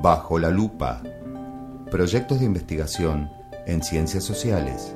Bajo la lupa. Proyectos de investigación en ciencias sociales.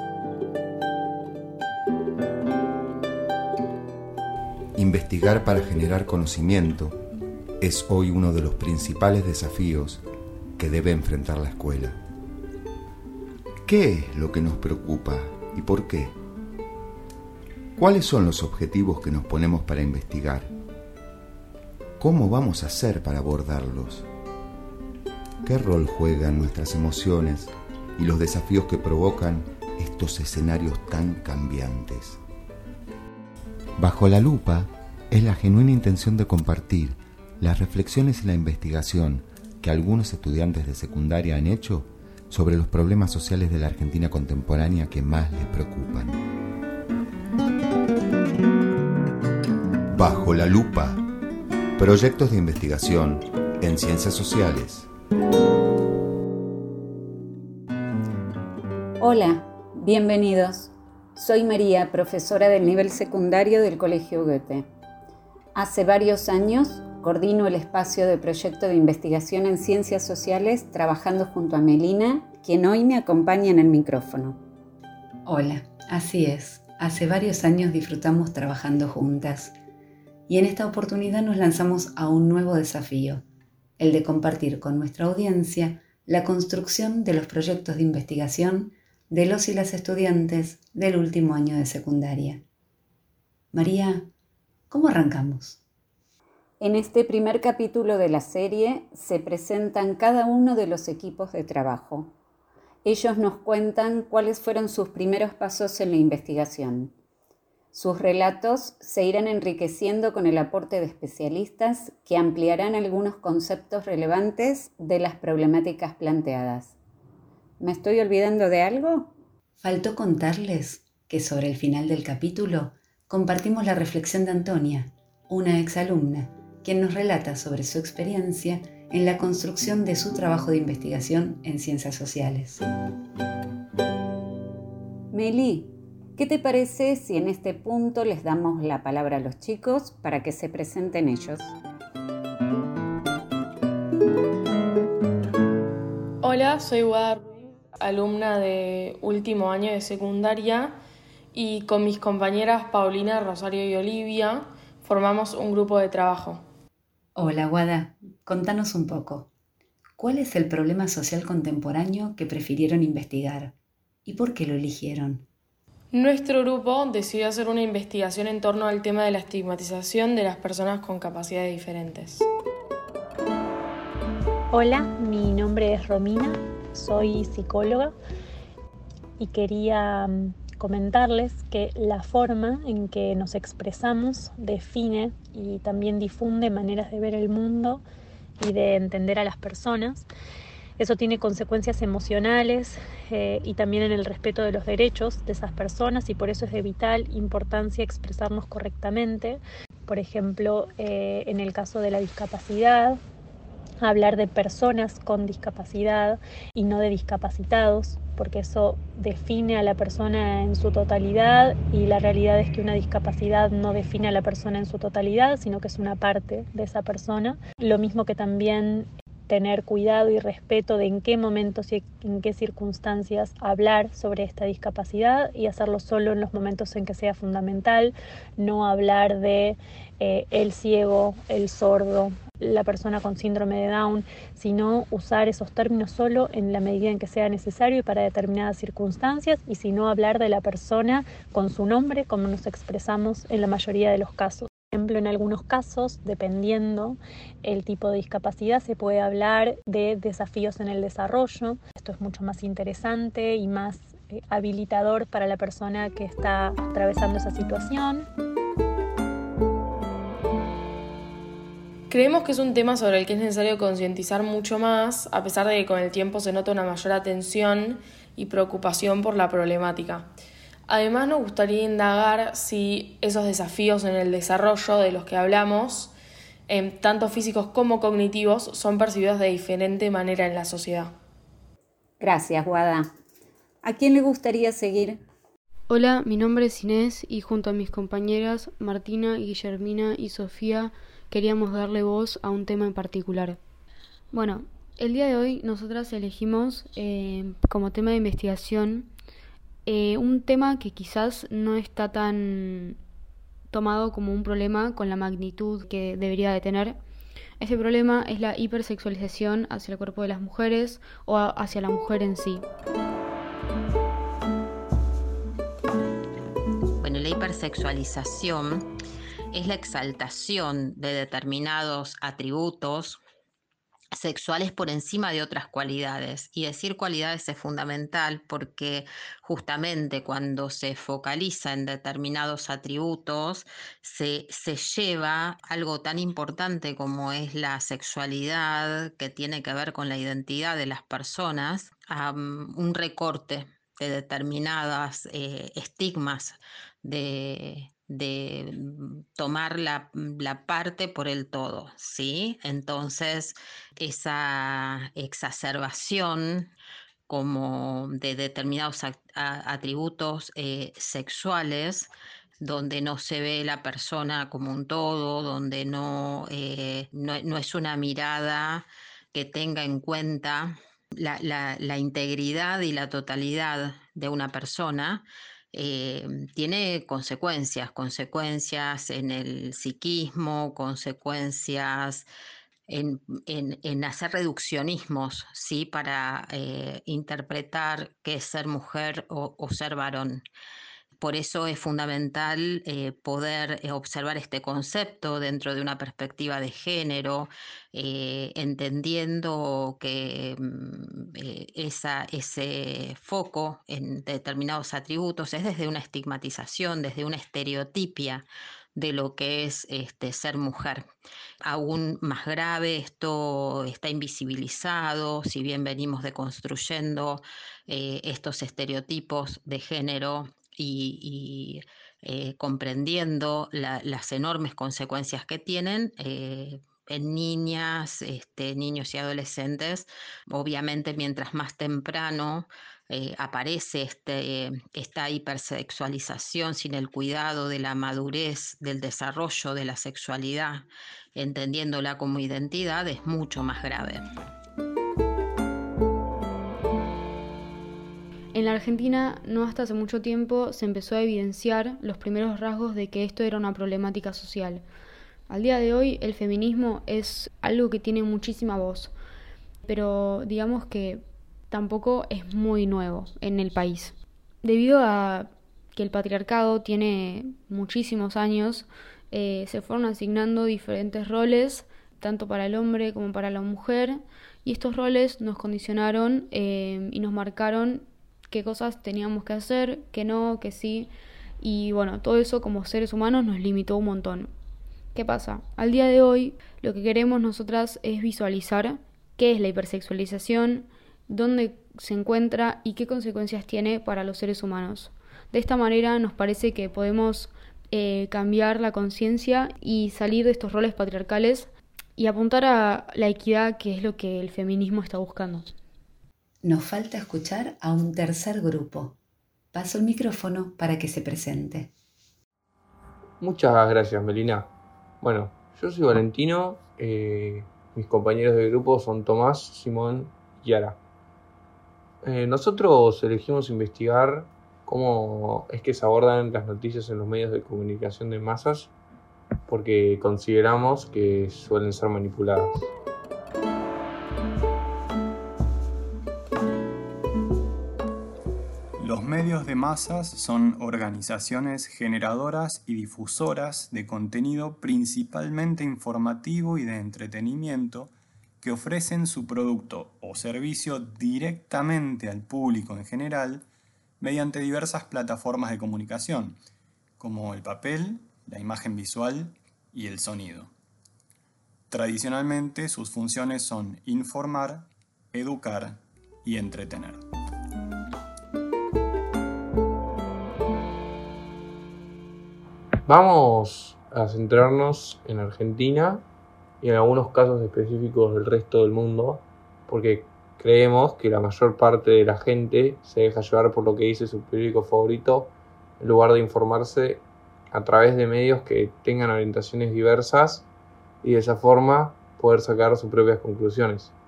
Investigar para generar conocimiento es hoy uno de los principales desafíos que debe enfrentar la escuela. ¿Qué es lo que nos preocupa y por qué? ¿Cuáles son los objetivos que nos ponemos para investigar? ¿Cómo vamos a hacer para abordarlos? ¿Qué rol juegan nuestras emociones y los desafíos que provocan estos escenarios tan cambiantes? Bajo la lupa es la genuina intención de compartir las reflexiones y la investigación que algunos estudiantes de secundaria han hecho sobre los problemas sociales de la Argentina contemporánea que más les preocupan. Bajo la lupa. Proyectos de investigación en ciencias sociales. Hola, bienvenidos. Soy María, profesora del nivel secundario del Colegio Goethe. Hace varios años coordino el espacio de proyecto de investigación en ciencias sociales trabajando junto a Melina, quien hoy me acompaña en el micrófono. Hola, así es. Hace varios años disfrutamos trabajando juntas y en esta oportunidad nos lanzamos a un nuevo desafío, el de compartir con nuestra audiencia la construcción de los proyectos de investigación de los y las estudiantes del último año de secundaria. María, ¿cómo arrancamos? En este primer capítulo de la serie se presentan cada uno de los equipos de trabajo. Ellos nos cuentan cuáles fueron sus primeros pasos en la investigación. Sus relatos se irán enriqueciendo con el aporte de especialistas que ampliarán algunos conceptos relevantes de las problemáticas planteadas. ¿Me estoy olvidando de algo? Faltó contarles que sobre el final del capítulo compartimos la reflexión de Antonia, una exalumna, quien nos relata sobre su experiencia en la construcción de su trabajo de investigación en ciencias sociales. Meli, ¿qué te parece si en este punto les damos la palabra a los chicos para que se presenten ellos? Hola, soy Guada Ruiz, alumna de último año de secundaria, y con mis compañeras Paulina, Rosario y Olivia formamos un grupo de trabajo. Hola Guada, contanos un poco. ¿Cuál es el problema social contemporáneo que prefirieron investigar? ¿Y por qué lo eligieron? Nuestro grupo decidió hacer una investigación en torno al tema de la estigmatización de las personas con capacidades diferentes. Hola, mi nombre es Romina, soy psicóloga y quería comentarles que la forma en que nos expresamos define y también difunde maneras de ver el mundo y de entender a las personas. Eso tiene consecuencias emocionales y también en el respeto de los derechos de esas personas, y por eso es de vital importancia expresarnos correctamente. Por ejemplo, en el caso de la discapacidad, hablar de personas con discapacidad y no de discapacitados, porque eso define a la persona en su totalidad, y la realidad es que una discapacidad no define a la persona en su totalidad, sino que es una parte de esa persona. Lo mismo que también tener cuidado y respeto de en qué momentos y en qué circunstancias hablar sobre esta discapacidad, y hacerlo solo en los momentos en que sea fundamental, no hablar de el ciego, el sordo, la persona con síndrome de Down, sino usar esos términos solo en la medida en que sea necesario y para determinadas circunstancias, y si no hablar de la persona con su nombre, como nos expresamos en la mayoría de los casos. Por ejemplo, en algunos casos, dependiendo el tipo de discapacidad, se puede hablar de desafíos en el desarrollo. Esto es mucho más interesante y más habilitador para la persona que está atravesando esa situación. Creemos que es un tema sobre el que es necesario concientizar mucho más, a pesar de que con el tiempo se nota una mayor atención y preocupación por la problemática. Además, nos gustaría indagar si esos desafíos en el desarrollo de los que hablamos, tanto físicos como cognitivos, son percibidos de diferente manera en la sociedad. Gracias, Guada. ¿A quién le gustaría seguir? Hola, mi nombre es Inés y junto a mis compañeras Martina, Guillermina y Sofía queríamos darle voz a un tema en particular. Bueno, el día de hoy nosotras elegimos como tema de investigación un tema que quizás no está tan tomado como un problema con la magnitud que debería de tener. Este problema es la hipersexualización hacia el cuerpo de las mujeres o hacia la mujer en sí. Bueno, la hipersexualización es la exaltación de determinados atributos sexuales por encima de otras cualidades. Y decir cualidades es fundamental porque justamente cuando se focaliza en determinados atributos se lleva algo tan importante como es la sexualidad, que tiene que ver con la identidad de las personas, a un recorte de determinadas estigmas de tomar la parte por el todo, ¿sí? Entonces, esa exacerbación como de determinados atributos sexuales, donde no se ve la persona como un todo, donde no es una mirada que tenga en cuenta la integridad y la totalidad de una persona, tiene consecuencias en el psiquismo, consecuencias en hacer reduccionismos, ¿sí? Para interpretar qué es ser mujer o ser varón. Por eso es fundamental poder observar este concepto dentro de una perspectiva de género, entendiendo que ese foco en determinados atributos es desde una estigmatización, desde una estereotipia de lo que es ser mujer. Aún más grave, esto está invisibilizado, si bien venimos deconstruyendo estos estereotipos de género y comprendiendo las enormes consecuencias que tienen en niñas, niños y adolescentes. Obviamente, mientras más temprano aparece esta hipersexualización sin el cuidado de la madurez, del desarrollo de la sexualidad, entendiéndola como identidad, es mucho más grave. En la Argentina, no hasta hace mucho tiempo, se empezó a evidenciar los primeros rasgos de que esto era una problemática social. Al día de hoy, el feminismo es algo que tiene muchísima voz, pero digamos que tampoco es muy nuevo en el país. Debido a que el patriarcado tiene muchísimos años, se fueron asignando diferentes roles, tanto para el hombre como para la mujer, y estos roles nos condicionaron y nos marcaron qué cosas teníamos que hacer, qué no, qué sí, y bueno, todo eso como seres humanos nos limitó un montón. ¿Qué pasa? Al día de hoy, lo que queremos nosotras es visualizar qué es la hipersexualización, dónde se encuentra y qué consecuencias tiene para los seres humanos. De esta manera nos parece que podemos cambiar la conciencia y salir de estos roles patriarcales y apuntar a la equidad, que es lo que el feminismo está buscando. Nos falta escuchar a un tercer grupo. Paso el micrófono para que se presente. Muchas gracias, Melina. Bueno, yo soy Valentino, mis compañeros de grupo son Tomás, Simón y Yara. Nosotros elegimos investigar cómo es que se abordan las noticias en los medios de comunicación de masas, porque consideramos que suelen ser manipuladas. Los medios de masas son organizaciones generadoras y difusoras de contenido principalmente informativo y de entretenimiento que ofrecen su producto o servicio directamente al público en general mediante diversas plataformas de comunicación, como el papel, la imagen visual y el sonido. Tradicionalmente sus funciones son informar, educar y entretener. Vamos a centrarnos en Argentina y en algunos casos específicos del resto del mundo, porque creemos que la mayor parte de la gente se deja llevar por lo que dice su periódico favorito, en lugar de informarse a través de medios que tengan orientaciones diversas y de esa forma poder sacar sus propias conclusiones.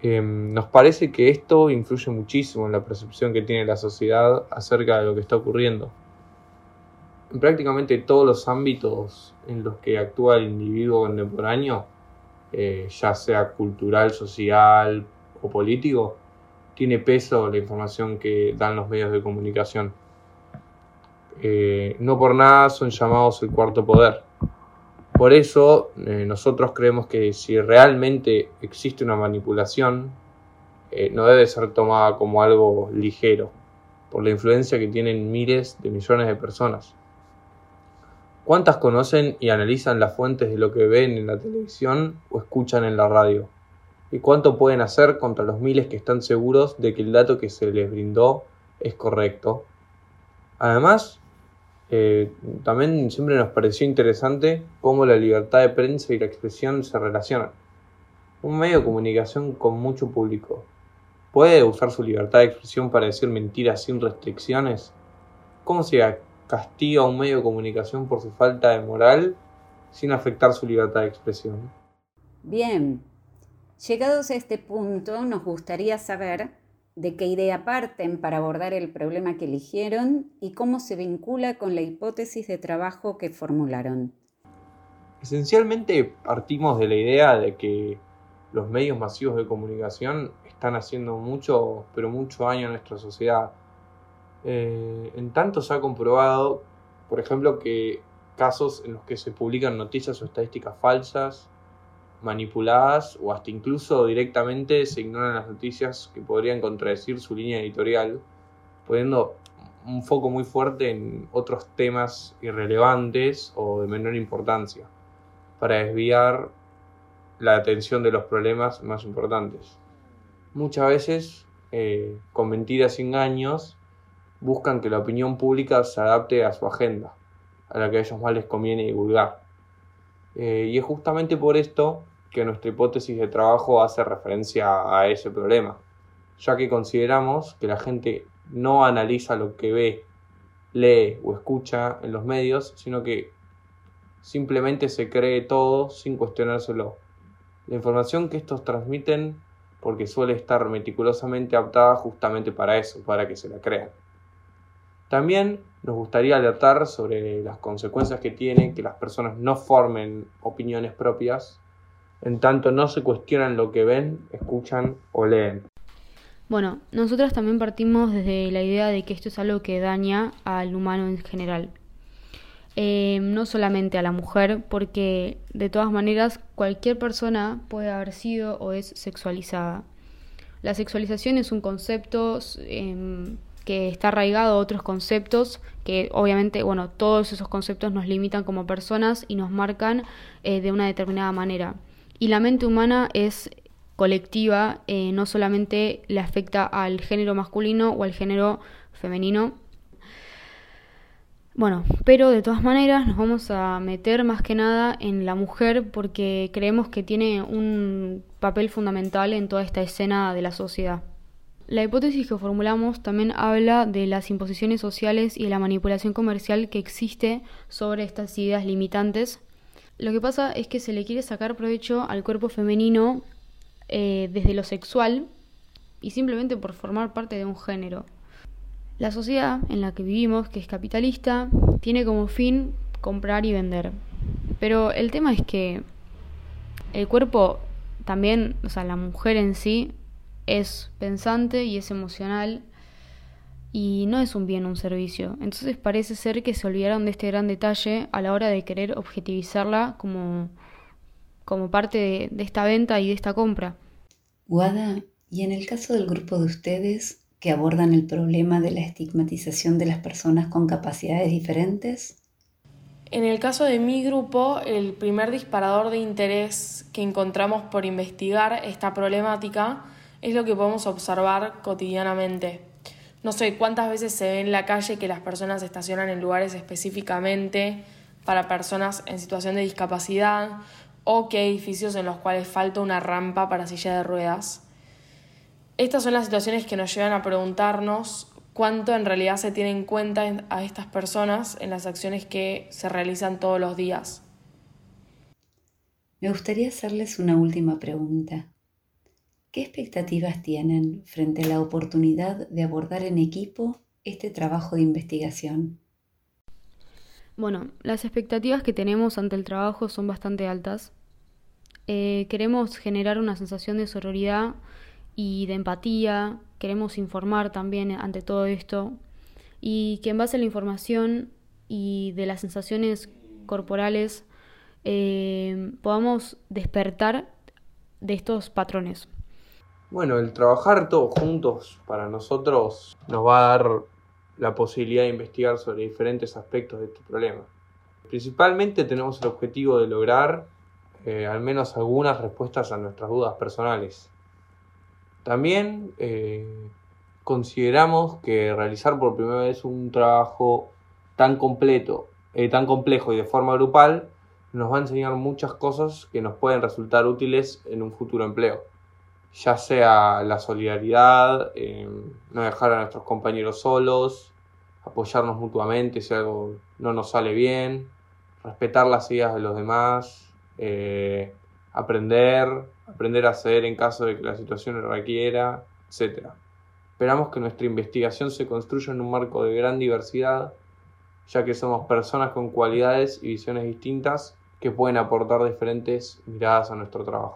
Nos parece que esto influye muchísimo en la percepción que tiene la sociedad acerca de lo que está ocurriendo. En prácticamente todos los ámbitos en los que actúa el individuo contemporáneo, ya sea cultural, social o político, tiene peso la información que dan los medios de comunicación. No por nada son llamados el cuarto poder. Por eso nosotros creemos que si realmente existe una manipulación, no debe ser tomada como algo ligero, por la influencia que tienen miles de millones de personas. ¿Cuántas conocen y analizan las fuentes de lo que ven en la televisión o escuchan en la radio? ¿Y cuánto pueden hacer contra los miles que están seguros de que el dato que se les brindó es correcto? Además, también siempre nos pareció interesante cómo la libertad de prensa y la expresión se relacionan. Un medio de comunicación con mucho público ¿puede usar su libertad de expresión para decir mentiras sin restricciones? ¿Cómo se castiga a un medio de comunicación por su falta de moral sin afectar su libertad de expresión? Bien, llegados a este punto, nos gustaría saber de qué idea parten para abordar el problema que eligieron y cómo se vincula con la hipótesis de trabajo que formularon. Esencialmente partimos de la idea de que los medios masivos de comunicación están haciendo mucho, pero mucho daño a nuestra sociedad. En tanto se ha comprobado, por ejemplo, que casos en los que se publican noticias o estadísticas falsas, manipuladas o hasta incluso directamente se ignoran las noticias que podrían contradecir su línea editorial, poniendo un foco muy fuerte en otros temas irrelevantes o de menor importancia, para desviar la atención de los problemas más importantes. Muchas veces, con mentiras y engaños, buscan que la opinión pública se adapte a su agenda, a la que a ellos más les conviene divulgar. Y es justamente por esto que nuestra hipótesis de trabajo hace referencia a ese problema, ya que consideramos que la gente no analiza lo que ve, lee o escucha en los medios, sino que simplemente se cree todo sin cuestionárselo. La información que estos transmiten, porque suele estar meticulosamente adaptada justamente para eso, para que se la crean. También nos gustaría alertar sobre las consecuencias que tiene que las personas no formen opiniones propias, en tanto no se cuestionan lo que ven, escuchan o leen. Bueno, nosotras también partimos desde la idea de que esto es algo que daña al humano en general. No solamente a la mujer, porque de todas maneras cualquier persona puede haber sido o es sexualizada. La sexualización es un concepto que está arraigado a otros conceptos que obviamente, todos esos conceptos nos limitan como personas y nos marcan de una determinada manera. Y la mente humana es colectiva, no solamente le afecta al género masculino o al género femenino. Pero de todas maneras nos vamos a meter más que nada en la mujer porque creemos que tiene un papel fundamental en toda esta escena de la sociedad. La hipótesis que formulamos también habla de las imposiciones sociales y de la manipulación comercial que existe sobre estas ideas limitantes. Lo que pasa es que se le quiere sacar provecho al cuerpo femenino desde lo sexual y simplemente por formar parte de un género. La sociedad en la que vivimos, que es capitalista, tiene como fin comprar y vender. Pero el tema es que el cuerpo también, la mujer en sí, es pensante y es emocional y no es un bien, un servicio. Entonces parece ser que se olvidaron de este gran detalle a la hora de querer objetivizarla como parte de esta venta y de esta compra. Guada, y en el caso del grupo de ustedes que abordan el problema de la estigmatización de las personas con capacidades diferentes. En el caso de mi grupo, el primer disparador de interés que encontramos por investigar esta problemática es lo que podemos observar cotidianamente. No sé cuántas veces se ve en la calle que las personas estacionan en lugares específicamente para personas en situación de discapacidad o que hay edificios en los cuales falta una rampa para silla de ruedas. Estas son las situaciones que nos llevan a preguntarnos cuánto en realidad se tiene en cuenta a estas personas en las acciones que se realizan todos los días. Me gustaría hacerles una última pregunta. ¿Qué expectativas tienen frente a la oportunidad de abordar en equipo este trabajo de investigación? Bueno, las expectativas que tenemos ante el trabajo son bastante altas. Queremos generar una sensación de sororidad y de empatía, queremos informar también ante todo esto y que en base a la información y de las sensaciones corporales podamos despertar de estos patrones. Bueno, el trabajar todos juntos para nosotros nos va a dar la posibilidad de investigar sobre diferentes aspectos de este problema. Principalmente tenemos el objetivo de lograr al menos algunas respuestas a nuestras dudas personales. También consideramos que realizar por primera vez un trabajo tan complejo y de forma grupal nos va a enseñar muchas cosas que nos pueden resultar útiles en un futuro empleo. Ya sea la solidaridad, no dejar a nuestros compañeros solos, apoyarnos mutuamente si algo no nos sale bien, respetar las ideas de los demás, aprender a ceder en caso de que la situación lo requiera, etc. Esperamos que nuestra investigación se construya en un marco de gran diversidad, ya que somos personas con cualidades y visiones distintas que pueden aportar diferentes miradas a nuestro trabajo.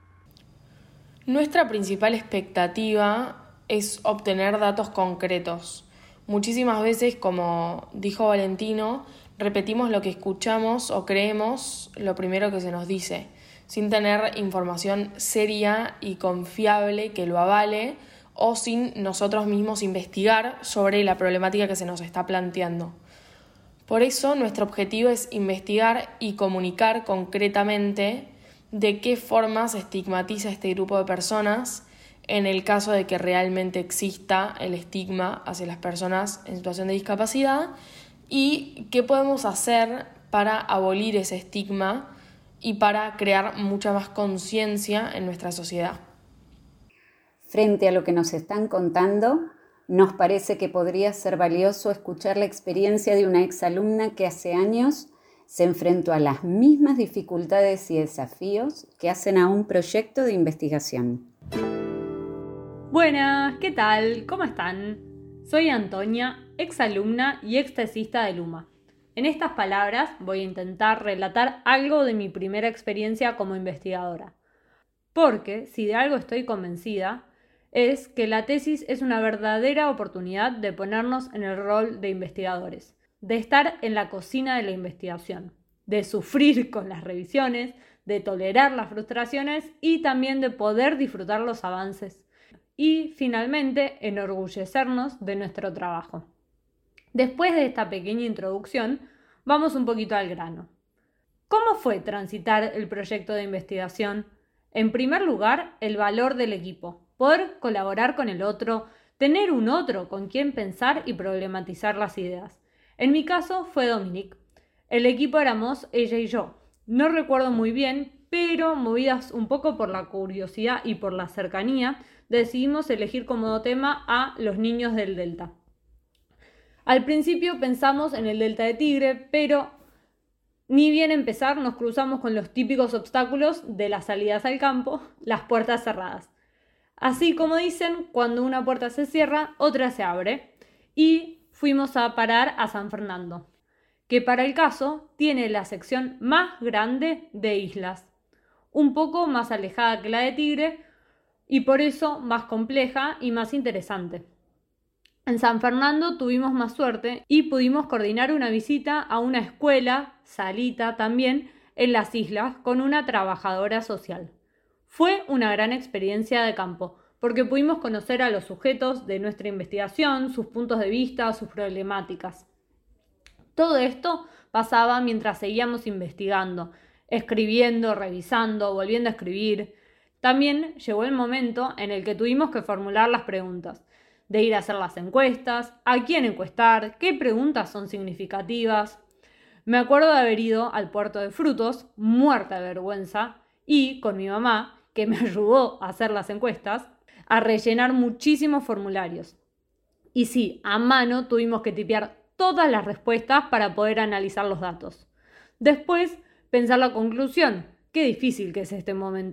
Nuestra principal expectativa es obtener datos concretos. Muchísimas veces, como dijo Valentino, repetimos lo que escuchamos o creemos lo primero que se nos dice, sin tener información seria y confiable que lo avale o sin nosotros mismos investigar sobre la problemática que se nos está planteando. Por eso, nuestro objetivo es investigar y comunicar concretamente de qué forma se estigmatiza este grupo de personas en el caso de que realmente exista el estigma hacia las personas en situación de discapacidad y qué podemos hacer para abolir ese estigma y para crear mucha más conciencia en nuestra sociedad. Frente a lo que nos están contando, nos parece que podría ser valioso escuchar la experiencia de una exalumna que hace años se enfrentó a las mismas dificultades y desafíos que hacen a un proyecto de investigación. Buenas, ¿qué tal? ¿Cómo están? Soy Antonia, exalumna y extesista de Luma. En estas palabras voy a intentar relatar algo de mi primera experiencia como investigadora. Porque, si de algo estoy convencida, es que la tesis es una verdadera oportunidad de ponernos en el rol de investigadores, de estar en la cocina de la investigación, de sufrir con las revisiones, de tolerar las frustraciones y también de poder disfrutar los avances. Y, finalmente, enorgullecernos de nuestro trabajo. Después de esta pequeña introducción, vamos un poquito al grano. ¿Cómo fue transitar el proyecto de investigación? En primer lugar, el valor del equipo, poder colaborar con el otro, tener un otro con quien pensar y problematizar las ideas. En mi caso fue Dominique. El equipo éramos ella y yo. No recuerdo muy bien, pero movidas un poco por la curiosidad y por la cercanía, decidimos elegir como tema a los niños del Delta. Al principio pensamos en el Delta de Tigre, pero ni bien empezar nos cruzamos con los típicos obstáculos de las salidas al campo, las puertas cerradas. Así como dicen, cuando una puerta se cierra, otra se abre. Y fuimos a parar a San Fernando, que para el caso tiene la sección más grande de islas, un poco más alejada que la de Tigre y por eso más compleja y más interesante. En San Fernando tuvimos más suerte y pudimos coordinar una visita a una escuela, salita también, en las islas con una trabajadora social. Fue una gran experiencia de campo, porque pudimos conocer a los sujetos de nuestra investigación, sus puntos de vista, sus problemáticas. Todo esto pasaba mientras seguíamos investigando, escribiendo, revisando, volviendo a escribir. También llegó el momento en el que tuvimos que formular las preguntas, de ir a hacer las encuestas, a quién encuestar, qué preguntas son significativas. Me acuerdo de haber ido al puerto de Frutos, muerta de vergüenza, y con mi mamá, que me ayudó a hacer las encuestas, a rellenar muchísimos formularios. Y sí, a mano tuvimos que tipear todas las respuestas para poder analizar los datos. Después, pensar la conclusión. Qué difícil que es este momento.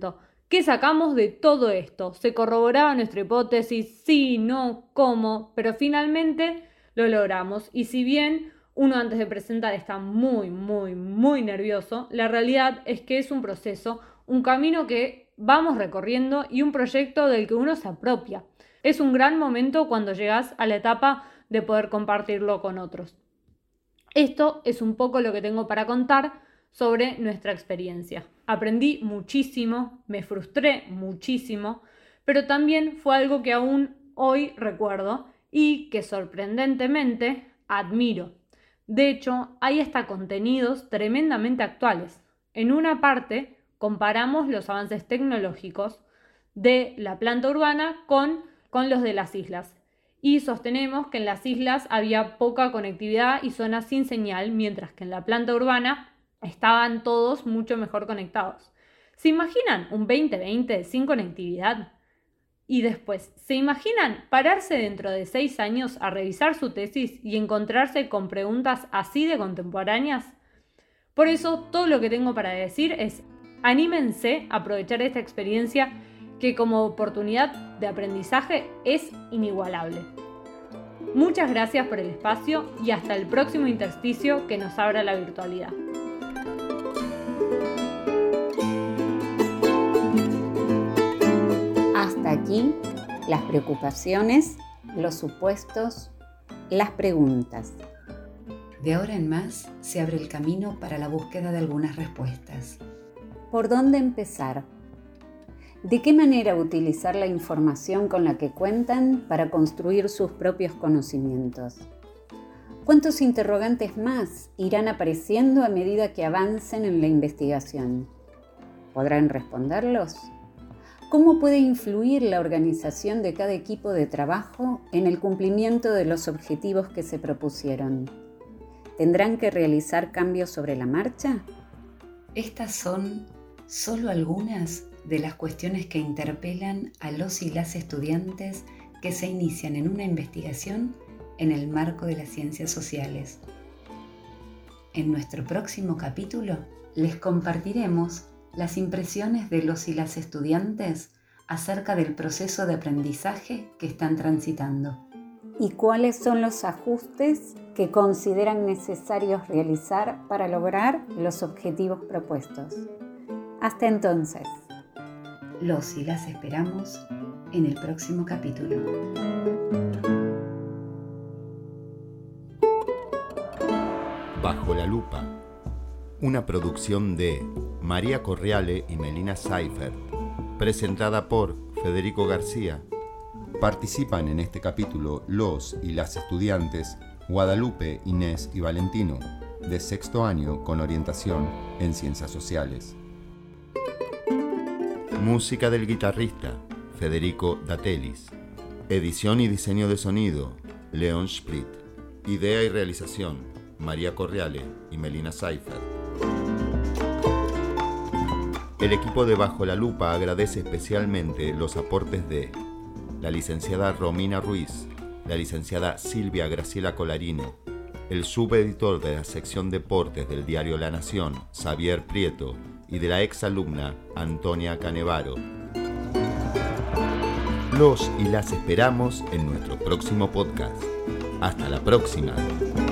¿Qué sacamos de todo esto? ¿Se corroboraba nuestra hipótesis? Sí, no, cómo, pero finalmente lo logramos. Y si bien uno antes de presentar está muy nervioso, la realidad es que es un proceso, un camino que vamos recorriendo y un proyecto del que uno se apropia. Es un gran momento cuando llegas a la etapa de poder compartirlo con otros. Esto es un poco lo que tengo para contar sobre nuestra experiencia. Aprendí muchísimo, me frustré muchísimo, pero también fue algo que aún hoy recuerdo y que sorprendentemente admiro. De hecho, hay hasta contenidos tremendamente actuales. En una parte comparamos los avances tecnológicos de la planta urbana con los de las islas. Y sostenemos que en las islas había poca conectividad y zonas sin señal, mientras que en la planta urbana estaban todos mucho mejor conectados. ¿Se imaginan un 2020 sin conectividad? Y después, ¿se imaginan pararse dentro de 6 años a revisar su tesis y encontrarse con preguntas así de contemporáneas? Por eso, todo lo que tengo para decir es: anímense a aprovechar esta experiencia que como oportunidad de aprendizaje es inigualable. Muchas gracias por el espacio y hasta el próximo intersticio que nos abra la virtualidad. Hasta aquí las preocupaciones, los supuestos, las preguntas. De ahora en más se abre el camino para la búsqueda de algunas respuestas. ¿Por dónde empezar? ¿De qué manera utilizar la información con la que cuentan para construir sus propios conocimientos? ¿Cuántos interrogantes más irán apareciendo a medida que avancen en la investigación? ¿Podrán responderlos? ¿Cómo puede influir la organización de cada equipo de trabajo en el cumplimiento de los objetivos que se propusieron? ¿Tendrán que realizar cambios sobre la marcha? Estas son solo algunas de las cuestiones que interpelan a los y las estudiantes que se inician en una investigación en el marco de las ciencias sociales. En nuestro próximo capítulo les compartiremos las impresiones de los y las estudiantes acerca del proceso de aprendizaje que están transitando. ¿Y cuáles son los ajustes que consideran necesarios realizar para lograr los objetivos propuestos? Hasta entonces. Los y las esperamos en el próximo capítulo. Bajo la lupa, una producción de María Corriale y Melina Seifert, presentada por Federico García. Participan en este capítulo los y las estudiantes Guadalupe, Inés y Valentino, de 6º año con orientación en Ciencias Sociales. Música del guitarrista Federico Datelis. Edición y diseño de sonido Leon Split. Idea y realización María Corriale y Melina Seifert. El equipo de Bajo la Lupa agradece especialmente los aportes de la licenciada Romina Ruiz, la licenciada Silvia Graciela Colarino, el subeditor de la sección Deportes del diario La Nación, Xavier Prieto, y de la exalumna Antonia Canevaro. Los y las esperamos en nuestro próximo podcast. Hasta la próxima.